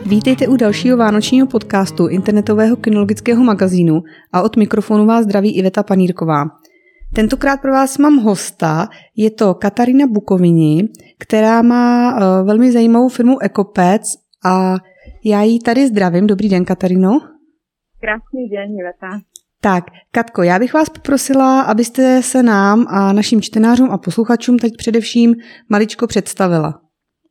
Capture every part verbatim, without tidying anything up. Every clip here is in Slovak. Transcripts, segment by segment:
Vítejte u dalšího vánočního podcastu internetového kynologického magazínu a od mikrofonu vás zdraví Iveta Panírková. Tentokrát pro vás mám hosta, je to Katarína Bukovini, která má uh, velmi zajímavou firmu Ekopec a já ji tady zdravím. Dobrý den, Kataríno. Krásný den, Iveta. Tak, Katko, já bych vás poprosila, abyste se nám a našim čtenářům a posluchačům teď především maličko představila.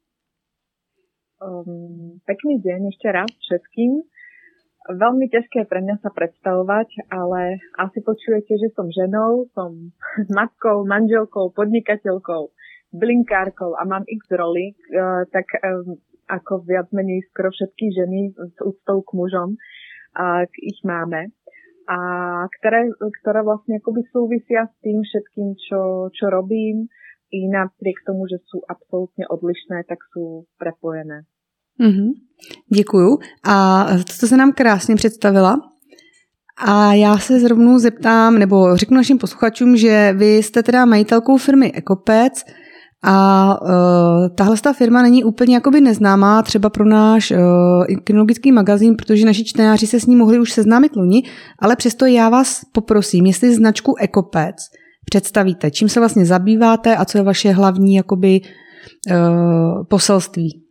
Um, pekný deň ešte raz všetkým. Veľmi ťažké pre mňa sa predstavovať, ale asi počujete, že som ženou, som matkou, manželkou, podnikateľkou, blinkárkou a mám x rolí, uh, tak um, ako viac menej skoro všetky ženy s úctou k mužom, uh, ich máme. A ktoré, ktoré vlastne akoby súvisia s tým všetkým, čo, čo robím, i napriek tomu, že sú absolútne odlišné, tak sú prepojené. Mm-hmm. Děkuju. A to se nám krásně představila. A já se zrovna zeptám, nebo řeknu našim posluchačům, že vy jste teda majitelkou firmy Ekopec a uh, tahle ta firma není úplně jakoby neznámá třeba pro náš uh, kynologický magazín, protože naši čtenáři se s ní mohli už seznámit loni, ale přesto já vás poprosím, jestli značku Ekopec představíte, čím se vlastně zabýváte a co je vaše hlavní jakoby uh, poselství.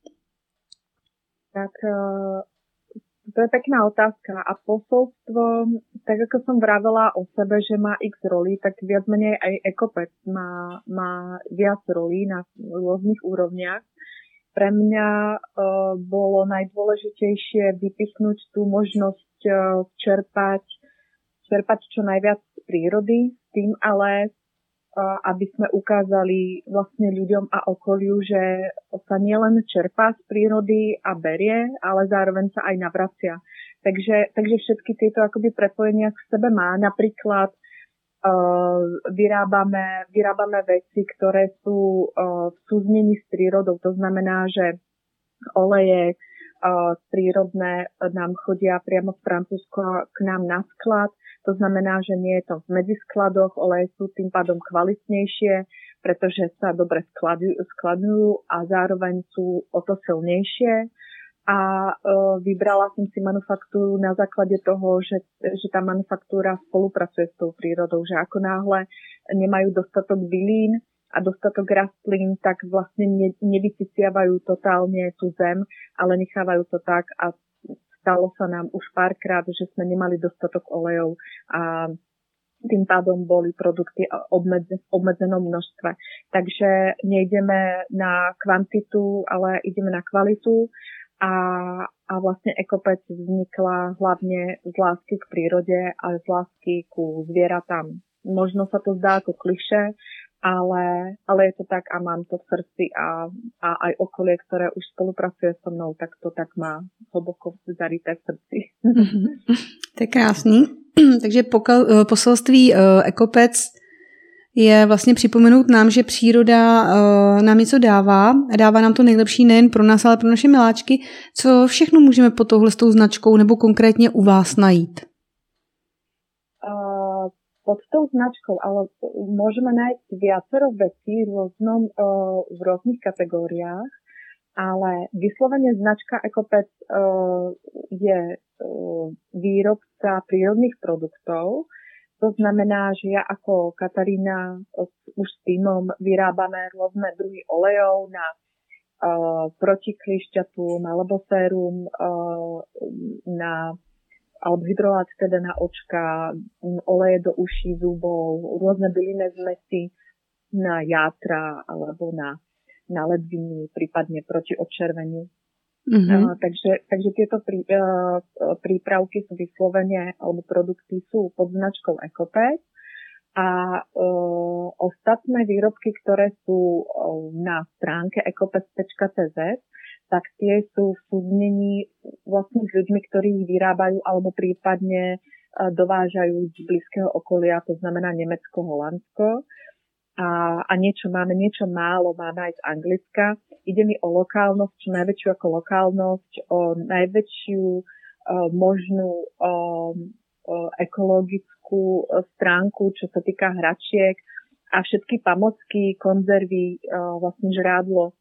Tak uh, to je pekná otázka a posolstvo, tak ako som vravela o sebe, že má x rolí, tak viac menej aj Ekopec má, má viac rolí na rôznych úrovniach. Pre mňa uh, bolo najdôležitejšie vypichnúť tú možnosť uh, čerpať, čerpať čo najviac z prírody, s tým ale aby sme ukázali vlastne ľuďom a okoliu, že sa nielen čerpá z prírody a berie, ale zároveň sa aj navracia. Takže, takže všetky tieto akoby prepojenia k sebe má. Napríklad uh, vyrábame, vyrábame veci, ktoré sú uh, v súznení s prírodou. To znamená, že oleje uh, prírodné nám chodia priamo z Francúzska k nám na sklad. To znamená, že nie je to v medziskladoch, oleje sú tým pádom kvalitnejšie, pretože sa dobre skladujú, skladujú a zároveň sú o to silnejšie. A e, vybrala som si manufaktúru na základe toho, že, že tá manufaktúra spolupracuje s tou prírodou, že ako náhle nemajú dostatok bylín a dostatok rastlín, tak vlastne ne, nevyciciavajú totálne tú zem, ale nechávajú to tak a stalo sa nám už párkrát, že sme nemali dostatok olejov a tým pádom boli produkty obmedze, v obmedzenom množstve. Takže nejdeme na kvantitu, ale ideme na kvalitu a, a vlastne Ekopec vznikla hlavne z lásky k prírode a z lásky ku zvieratám. Možno sa to zdá ako klišé, Ale, ale je to tak a mám to v srdci a, a aj okolie, ktoré už spolupracuje so mnou, tak to tak má hlboko zarité v srdci. To je krásný. Takže pokal, poselství uh, Ekopec je vlastně připomenout nám, že příroda uh, nám něco dává a dává nám to nejlepší nejen pro nás, ale pro naše miláčky. Co všechno můžeme pod touhle s tou značkou nebo konkrétně u vás najít? Uh, pod tou značkou, ale môžeme nájsť viacero vecí v, rôznom, uh, v rôznych kategóriách, ale vyslovene značka Ekopec uh, je uh, výrobca prírodných produktov. To znamená, že ja ako Katarína uh, už s týmom vyrábame rôzne druhy olejov na uh, proti klišťatům alebo sérum uh, na alebo hydrolát teda na očka, oleje do uší, zubov, rôzne bylinné zmesi na játra alebo na, na ledviny, prípadne proti odčerveniu. Mm-hmm. Uh, takže, takže tieto prí, uh, prípravky sú vyslovene, alebo produkty sú pod značkou Ekopec a uh, ostatné výrobky, ktoré sú uh, na stránke ekopec bodka cé zet, tak tie sú v súznení vlastne s ľuďmi, ktorí ich vyrábajú alebo prípadne dovážajú z blízkeho okolia, to znamená Nemecko, Holandsko. A, a niečo máme, niečo málo máme aj z Anglicka. Ide mi o lokálnosť, čo najväčšiu ako lokálnosť, o najväčšiu o, možnú o, o, ekologickú stránku, čo sa týka hračiek a všetky pamocky, konzervy, o, vlastne žrádlo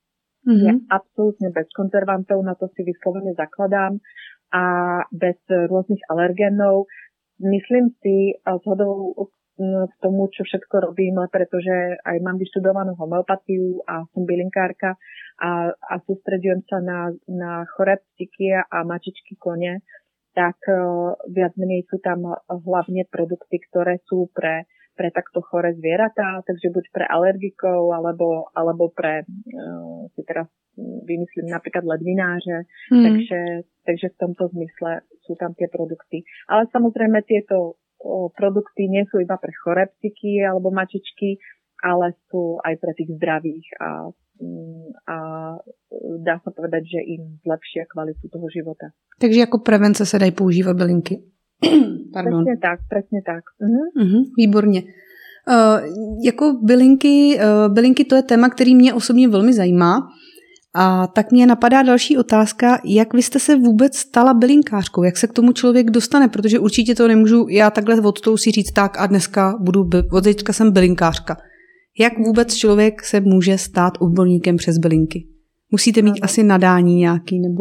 Mm-hmm. Je absolútne bez konzervantov, na to si vyslovene zakladám a bez rôznych alergénov. Myslím si zhodou k tomu, čo všetko robím, pretože aj mám vyštudovanú homeopatiu a som bylinkárka a, a sústredujem sa na, na choré psíky a mačičky kone, tak uh, viac menej sú tam hlavne produkty, ktoré sú pre, pre takto choré zvieratá, takže buď pre alergikov, alebo, alebo pre, uh, si teraz vymyslím napríklad ledvináře, mm. takže, takže v tomto zmysle sú tam tie produkty. Ale samozrejme tieto o, produkty nie sú iba pre choré psíky alebo mačičky, ale sú aj pre tých zdravých a a dá sa povedať, že im zlepšia kvalitu toho života. Takže jako prevence se dají používat bylinky. Pardon. Presne tak, presne tak. Uh-huh. Uh-huh, výborně. Uh, jako bylinky, uh, bylinky to je téma, který mě osobně velmi zajímá. A tak mě napadá další otázka, jak vy jste se vůbec stala bylinkářkou? Jak se k tomu člověk dostane? Protože určitě to nemůžu já takhle od toho si říct tak a dneska budu, od teďka jsem bylinkářka. Jak vůbec člověk se může stát odborníkem přes bylinky? Musíte mít asi nadání nějaký, nebo?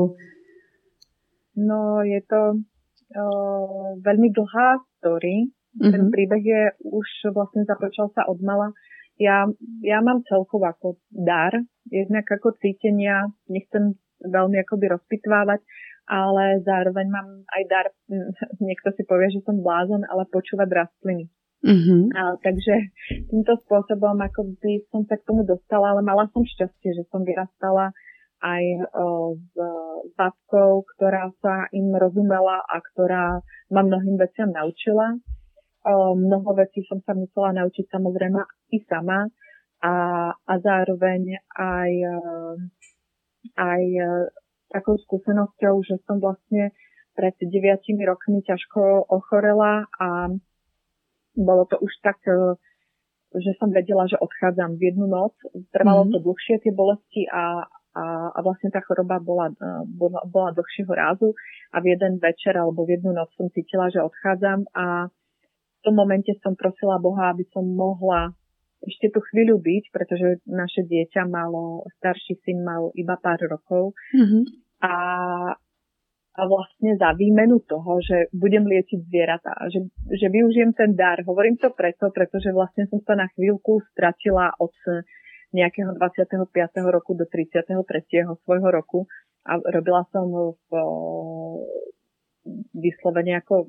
No, je to uh, veľmi dlhá story. Mm-hmm. Ten príbeh je už vlastne započal sa od mala. Ja, ja mám celkovo ako dar, jednak ako cítenia, nechcem veľmi akoby rozpitvávať, ale zároveň mám aj dar, niekto si povie, že som blázon, ale počúvať rastliny. Mm-hmm. A, takže týmto spôsobom akoby som sa k tomu dostala, ale mala som šťastie, že som vyrastala aj o, s babkou, ktorá sa im rozumela a ktorá ma mnohým veciam naučila. O, mnoho vecí som sa musela naučiť samozrejme i sama a, a zároveň aj, aj takou skúsenosťou, že som vlastne pred deviatimi rokmi ťažko ochorela a bolo to už tak, že som vedela, že odchádzam v jednu noc. Trvalo to dlhšie tie bolesti a, a, a vlastne tá choroba bola, bola, bola dlhšieho rázu a v jeden večer alebo v jednu noc som cítila, že odchádzam a v tom momente som prosila Boha, aby som mohla ešte tú chvíľu byť, pretože naše dieťa malo, starší syn mal iba pár rokov mm-hmm. a a vlastne za výmenu toho, že budem liečiť zvieratá, že, že využijem ten dar. Hovorím to preto, pretože vlastne som sa na chvíľku stratila od nejakého dvadsiateho piateho roku do tridsiateho tretieho svojho roku a robila som v vyslovene ako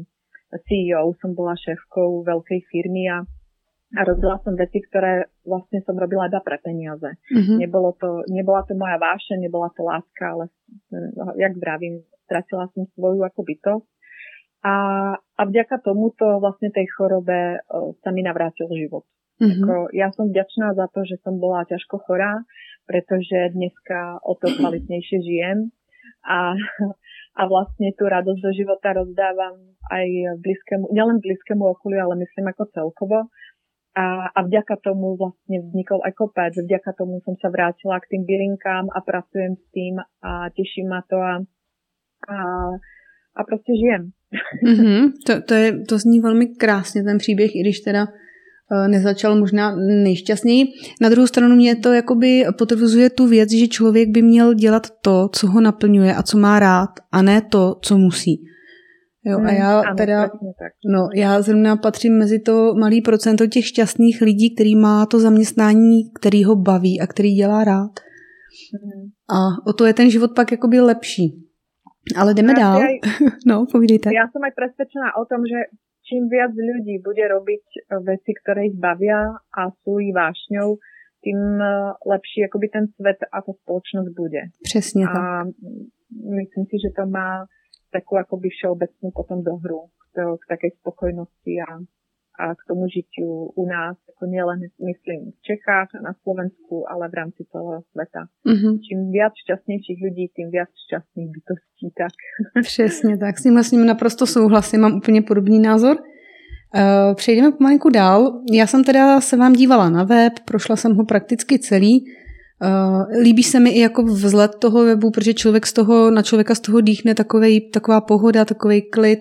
C E O, som bola šéfkou veľkej firmy a a robila som veci, ktoré vlastne som robila iba pre peniaze. Mm-hmm. Nebolo to, nebola to moja vášeň, nebola to láska, ale jak vravím, stratila som svoju ako bytosť. A, a vďaka tomuto vlastne tej chorobe o, sa mi navrátil život. Mm-hmm. Ako, ja som vďačná za to, že som bola ťažko chorá, pretože dneska o to kvalitnejšie žijem a, a vlastne tú radosť do života rozdávam aj blízkému, nielen blízkému okoliu, ale myslím ako celkovo. A, a vďaka tomu vlastne vznikol Ekopec, vďaka tomu som sa vrátila k tým bylinkám a pracujem s tým a teší ma to a, a, a prostě žijem. Mm-hmm. To, to, je, to zní velmi krásně ten příběh, i když teda uh, nezačal možná nejšťastněji. Na druhou stranu mě to jakoby potvrzuje tu věc, že člověk by měl dělat to, co ho naplňuje a co má rád, a ne to, co musí. Jo, a já teda, no, já zrovna patřím mezi to malý procento těch šťastných lidí, který má to zaměstnání, který ho baví a který dělá rád. Mm. A o to je ten život pak jakoby lepší. Ale jdeme ja dál. Aj, no, povídejte. Ja som aj presvedčená o tom, že čím viac ľudí bude robiť veci, ktoré ich bavia a sú ich vášňou, tým lepší akoby ten svet a ta spoločnosť bude. Přesně tak. A myslím si, že to má takú akoby všeobecnú potom dohru k, k takej spokojnosti a, a k tomu žitiu u nás, ako nielen myslím v Čechách a na Slovensku, ale v rámci celého sveta. Mm-hmm. Čím viac šťastnějších lidí, tím viac šťastných bytostí. Tak. Přesně tak, s tím s ním naprosto souhlasím, mám úplně podobný názor. Uh, přejdeme pomalinku dál. Já jsem teda se vám dívala na web, prošla jsem ho prakticky celý. Uh, líbí se mi i jako vzhled toho webu, protože člověk z toho, na člověka z toho dýchne takovej, taková pohoda, takovej klid.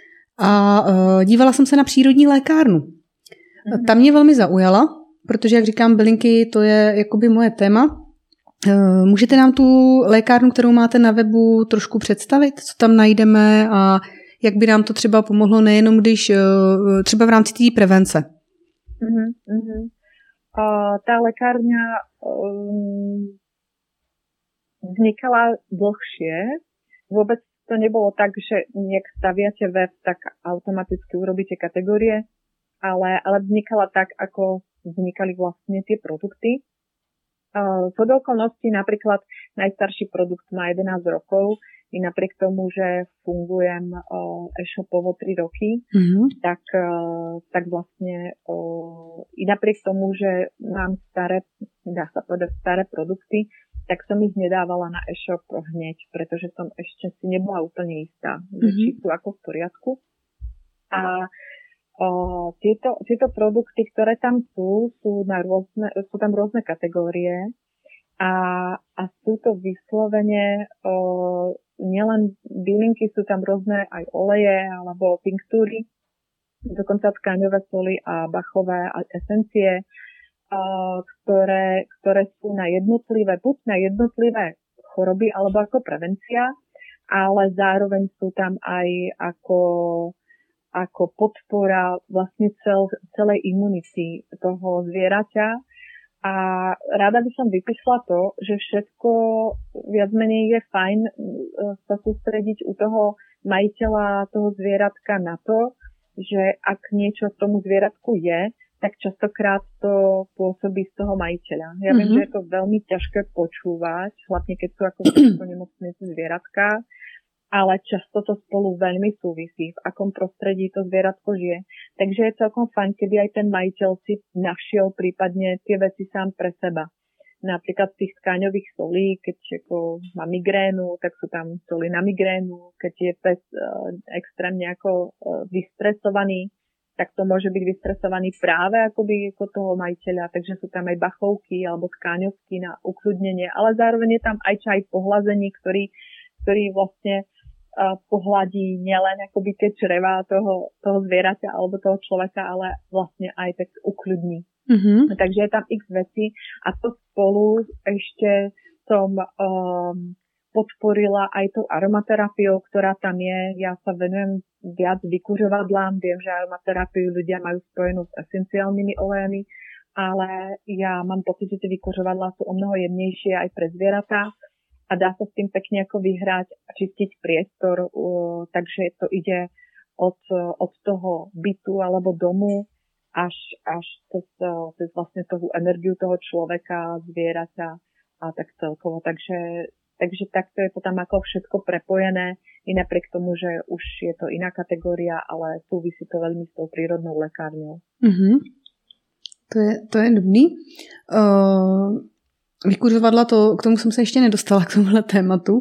A uh, dívala jsem se na přírodní lékárnu. Mm-hmm. Ta mě velmi zaujala, protože, jak říkám, bylinky, to je jakoby moje téma. Můžete nám tu lékárnu, kterou máte na webu, trošku představit, co tam najdeme a jak by nám to třeba pomohlo nejenom když třeba v rámci té prevence? Uh-huh, uh-huh. Uh, tá lekárňa um, vznikala dlhšie. Vôbec to nebolo tak, že nejak staviate web, tak automaticky urobíte kategórie, ale, ale vznikala tak, ako vznikali vlastne tie produkty. Uh, z okolností napríklad najstarší produkt má jedenásť rokov, i napriek tomu, že fungujem uh, e-shopovo tri roky, mm-hmm. tak, uh, tak vlastne uh, i napriek tomu, že mám staré, dá sa povedať, staré produkty, tak som ich nedávala na e-shop hneď, pretože som ešte si nebola úplne istá, mm-hmm. že či sú ako v poriadku. A uh, tieto, tieto produkty, ktoré tam sú, sú, na rôzne, sú tam rôzne kategórie a, a sú to vyslovene uh, nielen bylinky, sú tam rôzne aj oleje alebo tinktúry, dokonca tkáňové soly a bachové a esencie, ktoré, ktoré sú na jednotlivé, buď na jednotlivé choroby alebo ako prevencia, ale zároveň sú tam aj ako, ako podpora vlastne cel, celej imunity toho zvieraťa. A rada by som vypísla to, že všetko viac menej je fajn sa sústrediť u toho majiteľa toho zvieratka na to, že ak niečo tomu zvieratku je, tak častokrát to pôsobí z toho majiteľa. Ja mm-hmm. viem, že je to veľmi ťažké počúvať, hlavne keď sú ako nemocnice zvieratka, ale často to spolu veľmi súvisí, v akom prostredí to zvieratko žije. Takže je celkom fajn, keby aj ten majiteľ si našiel prípadne tie veci sám pre seba. Napríklad z tých tkáňových solí, keď ako má migrénu, tak sú tam soly na migrénu. Keď je pes uh, extrémne ako uh, vystresovaný, tak to môže byť vystresovaný práve akoby ako toho majiteľa. Takže sú tam aj bachovky alebo tkáňovky na ukludnenie, ale zároveň je tam aj čaj pohlazení, ktorý, ktorý vlastne pohľadí nielen akoby tie črevá toho, toho zvieraťa alebo toho človeka, ale vlastne aj tak ukľudní. Mm-hmm. Takže je tam x vecí a to spolu ešte som um, podporila aj tou aromaterapiou, ktorá tam je. Ja sa venujem viac vykuřovadlám, viem, že aromaterapiu ľudia majú spojenú s esenciálnymi olejami, ale ja mám pocit, že tie vykuřovadlá sú o mnoho jemnejšie aj pre zvieratá. A dá sa s tým pekne ako vyhrať a čistiť priestor, uh, takže to ide od, od toho bytu alebo domu až, až cez, cez vlastne tú energiu toho človeka, zvieraťa a tak celkovo. Takže, takže takto je to tam ako všetko prepojené, i napriek tomu, že už je to iná kategória, ale súvisí to veľmi s tou prírodnou lekárňou. Mm-hmm. To je, to je dobrý. Uh... Vykuřovadla, to, k tomu jsem se ještě nedostala, k tomuhle tématu,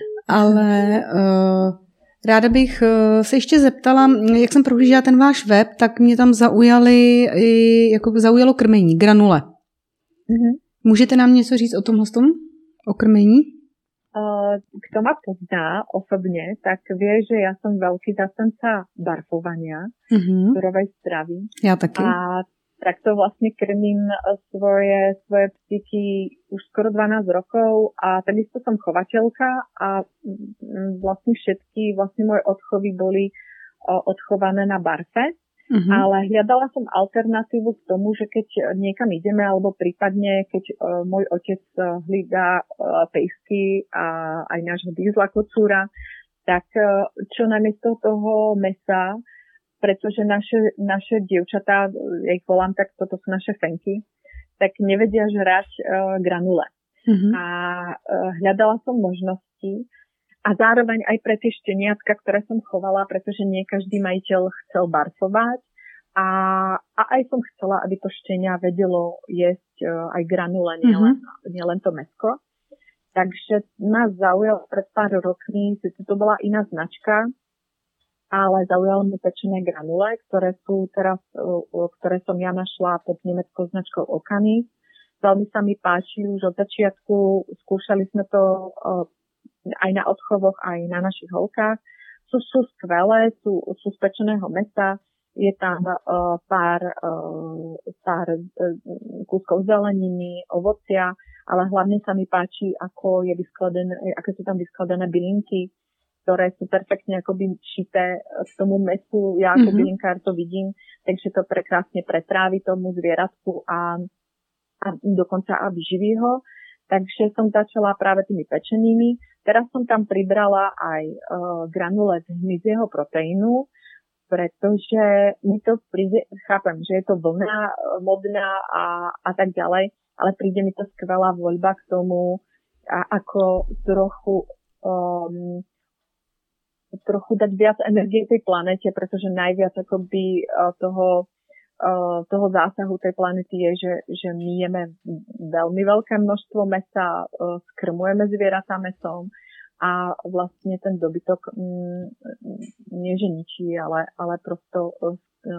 ale uh, ráda bych uh, se ještě zeptala, jak jsem prohlížela ten váš web, tak mě tam zaujaly, jako zaujalo krmení, granule. Mm-hmm. Můžete nám něco říct o tomhle tom, o krmení? Uh, kto ma pozná osobne, tak vie, že ja som veľký zastanca barfovania, mm-hmm. surovej stravy. Ja taky. A tak to vlastne krmím svoje, svoje psíky už skoro dvanásť rokov a takisto som chovateľka a vlastne všetky vlastne moje odchovy boli odchované na barfe, uh-huh. ale hľadala som alternatívu k tomu, že keď niekam ideme alebo prípadne keď môj otec hlída pejsky a aj nášho dízla kocúra, tak čo namiesto toho mäsa, pretože naše, naše dievčatá, ja ich volám, tak toto sú naše fenky, tak nevedia žrať uh, granule. Mm-hmm. A uh, hľadala som možnosti a zároveň aj pre tie šteniatka, ktoré som chovala, pretože nie každý majiteľ chcel barfovať a, a aj som chcela, aby to štenia vedelo jesť uh, aj granule, nielen mm-hmm. nie len to mäsko. Takže ma zaujalo pred pár rokmi, sice to bola iná značka, ale zaujalo mi pečené granule, ktoré sú teraz, ktoré som ja našla pod nemeckou značkou Okany. Veľmi sa mi páči už od začiatku, skúšali sme to aj na odchovoch, aj na našich holkách. Sú, sú skvelé, sú, sú z pečeného mäsa, je tam uh, pár, uh, pár uh, kúskov zeleniny, ovocia ale hlavne sa mi páči, ako je vyskladané, ako sú tam vyskladané bylinky, ktoré sú perfektne akoby šité k tomu mesu. Ja ako mm-hmm. bylinkár to vidím, takže to prekrásne pretrávi tomu zvieratku a, a dokonca a vyživí ho. Takže som začala práve tými pečenými. Teraz som tam pribrala aj uh, granule z hmyzieho proteínu, pretože mi to príde, chápem, že je to vlna modná a, a tak ďalej, ale príde mi to skvelá voľba k tomu, a ako trochu um, trochu dať viac energie tej planete, pretože najviac akoby uh, toho, uh, toho zásahu tej planety je, že, že my jeme veľmi veľké množstvo mäsa, uh, skrmujeme zvieratá mäsom a vlastne ten dobytok um, nie že ničí, ale, ale prosto uh,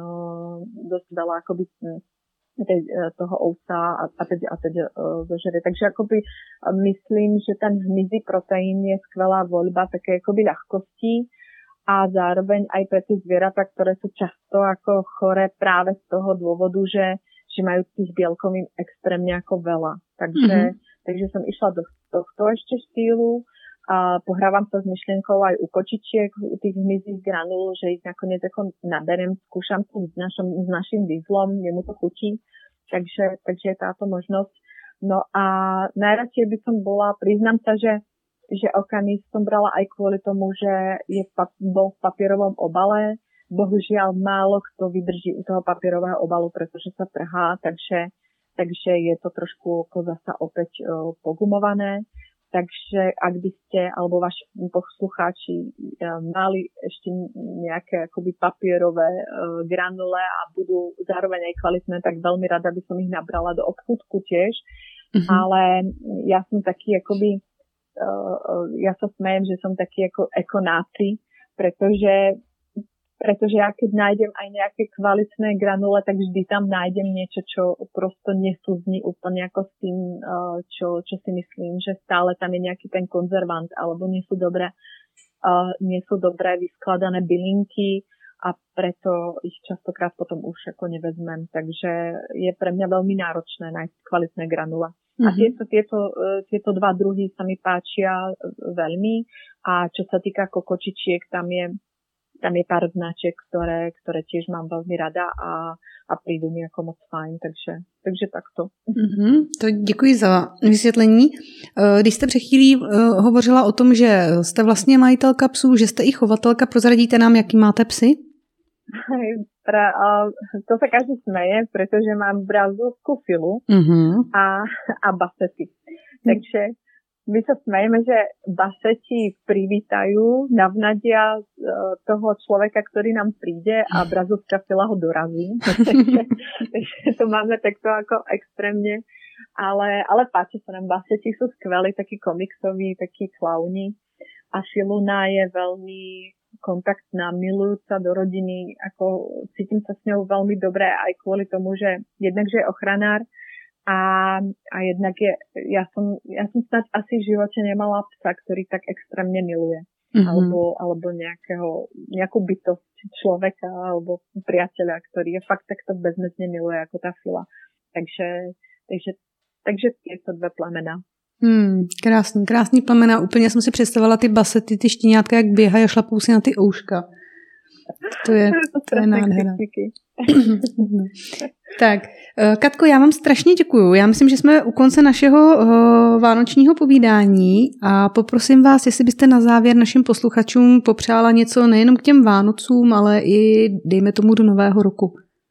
dosť veľa akoby tej, toho ovca a, a teď, a teď uh, zožere. Takže akoby uh, myslím, že ten hmyzí proteín je skvelá voľba také akoby ľahkosti a zároveň aj pre tie zvieratá, ktoré sú často ako choré práve z toho dôvodu, že, že majú tých bielkovín extrémne ako veľa. Takže, mm-hmm. takže som išla do tohto ešte štýlu a pohrávam sa s myšlienkou aj u kočičiek, u tých hmyzích granul, že ich nakoniec ako naberiem, skúšam to s, našom, s našim dieslom, jemu to chutí, takže, takže je táto možnosť. No a najradšej by som bola, priznám sa, že, že okanis som brala aj kvôli tomu, že je, bol v papierovom obale. Bohužiaľ málo kto vydrží u toho papierového obalu, pretože sa trhá, takže, takže je to trošku ako zasa opäť o, pogumované. Takže ak by ste, alebo vaši poslucháči mali ešte nejaké akoby papierové uh, granule a budú zároveň aj kvalitné, tak veľmi rada by som ich nabrala do obchúdku tiež. Mm-hmm. Ale ja som taký akoby, uh, ja sa smejem, že som taký ako ekonáci, pretože pretože ja keď nájdem aj nejaké kvalitné granule, tak vždy tam nájdem niečo, čo prosto nesúzní úplne ako s tým, čo, čo si myslím, že stále tam je nejaký ten konzervant, alebo nie sú dobré, uh, nie sú dobré vyskladané bylinky a preto ich častokrát potom už ako nevezmem. Takže je pre mňa veľmi náročné nájsť kvalitné granule. Mm-hmm. A tieto, tieto, tieto dva druhy sa mi páčia veľmi a čo sa týka kokočičiek, tam je Tam je pár značiek, ktoré, ktoré tiež mám veľmi rada a, a prídu mi ako moc fajn, takže, takže takto. Mm-hmm, to děkuji za vysvětlení. Když jste před chvílí hovořila o tom, že jste vlastně majitelka psů, že jste i chovatelka, prozradíte nám, jaký máte psy? Pra, to sa každý smeje, pretože mám brazilskú filu mm-hmm. a, a basety. Takže my sa smejeme, že baseti privítajú, navnadia toho človeka, ktorý nám príde a brazilská fila ho dorazí. Takže to máme takto ako extrémne. Ale, ale páči sa nám, baseti sú skvelí, takí komiksoví, takí klauni. A Filuna je veľmi kontaktná, milujúca do rodiny. Ako cítim sa s ňou veľmi dobre aj kvôli tomu, že jednak, že je ochranár, A, a jednak je, ja som, ja som snáď asi v živote nemala psa, ktorý tak extrémne miluje. Mm-hmm. Alebo, alebo nejakého, nejakú bytosť človeka alebo priateľa, ktorý je fakt takto bezmezne miluje ako tá fila. Takže, takže, takže tieto dve plemena. Hmm, krásný, krásný plemena. Úplně jsem si představila ty basety, ty štěňátka, jak běhají a šlapou si na ty ouška. To je, to je nádhera. Tak, Katko, já vám strašně děkuju. Já myslím, že jsme u konce našeho uh, vánočního povídání a poprosím vás, jestli byste na závěr našim posluchačům popřála něco nejenom k těm Vánocům, ale i dejme tomu do nového roku.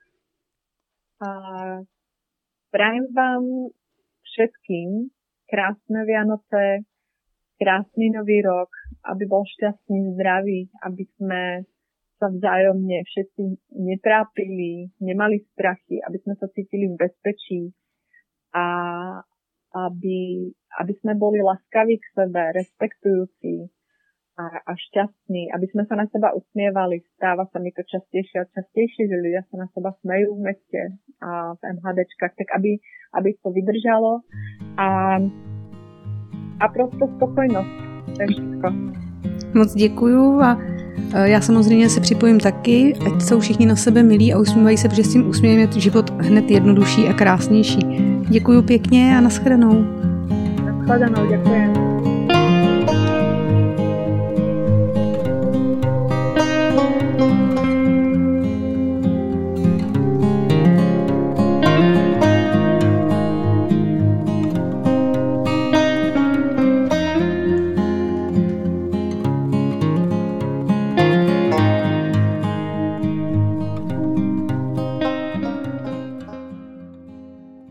Uh, prajem vám všetkým krásne Vianoce, krásny nový rok, aby bol šťastný, zdravý, aby sme sa vzájomne všetci netrápili, nemali strachy, aby sme sa cítili v bezpečí a aby, aby sme boli laskaví k sebe, respektujúci a, a šťastní, aby sme sa na seba usmievali. Stáva sa mi to častejšie a častejšie, že ľudia sa na seba smejú v meste a v MHDčkách, tak aby, aby to vydržalo a, a prosto spokojnosť. To je všetko. Moc děkuju a já samozřejmě se připojím taky, ať jsou všichni na sebe milí a usmívají se, protože s tím úsměvem je život hned jednodušší a krásnější. Děkuju pěkně a nashledanou. Naschledanou, ďakujem.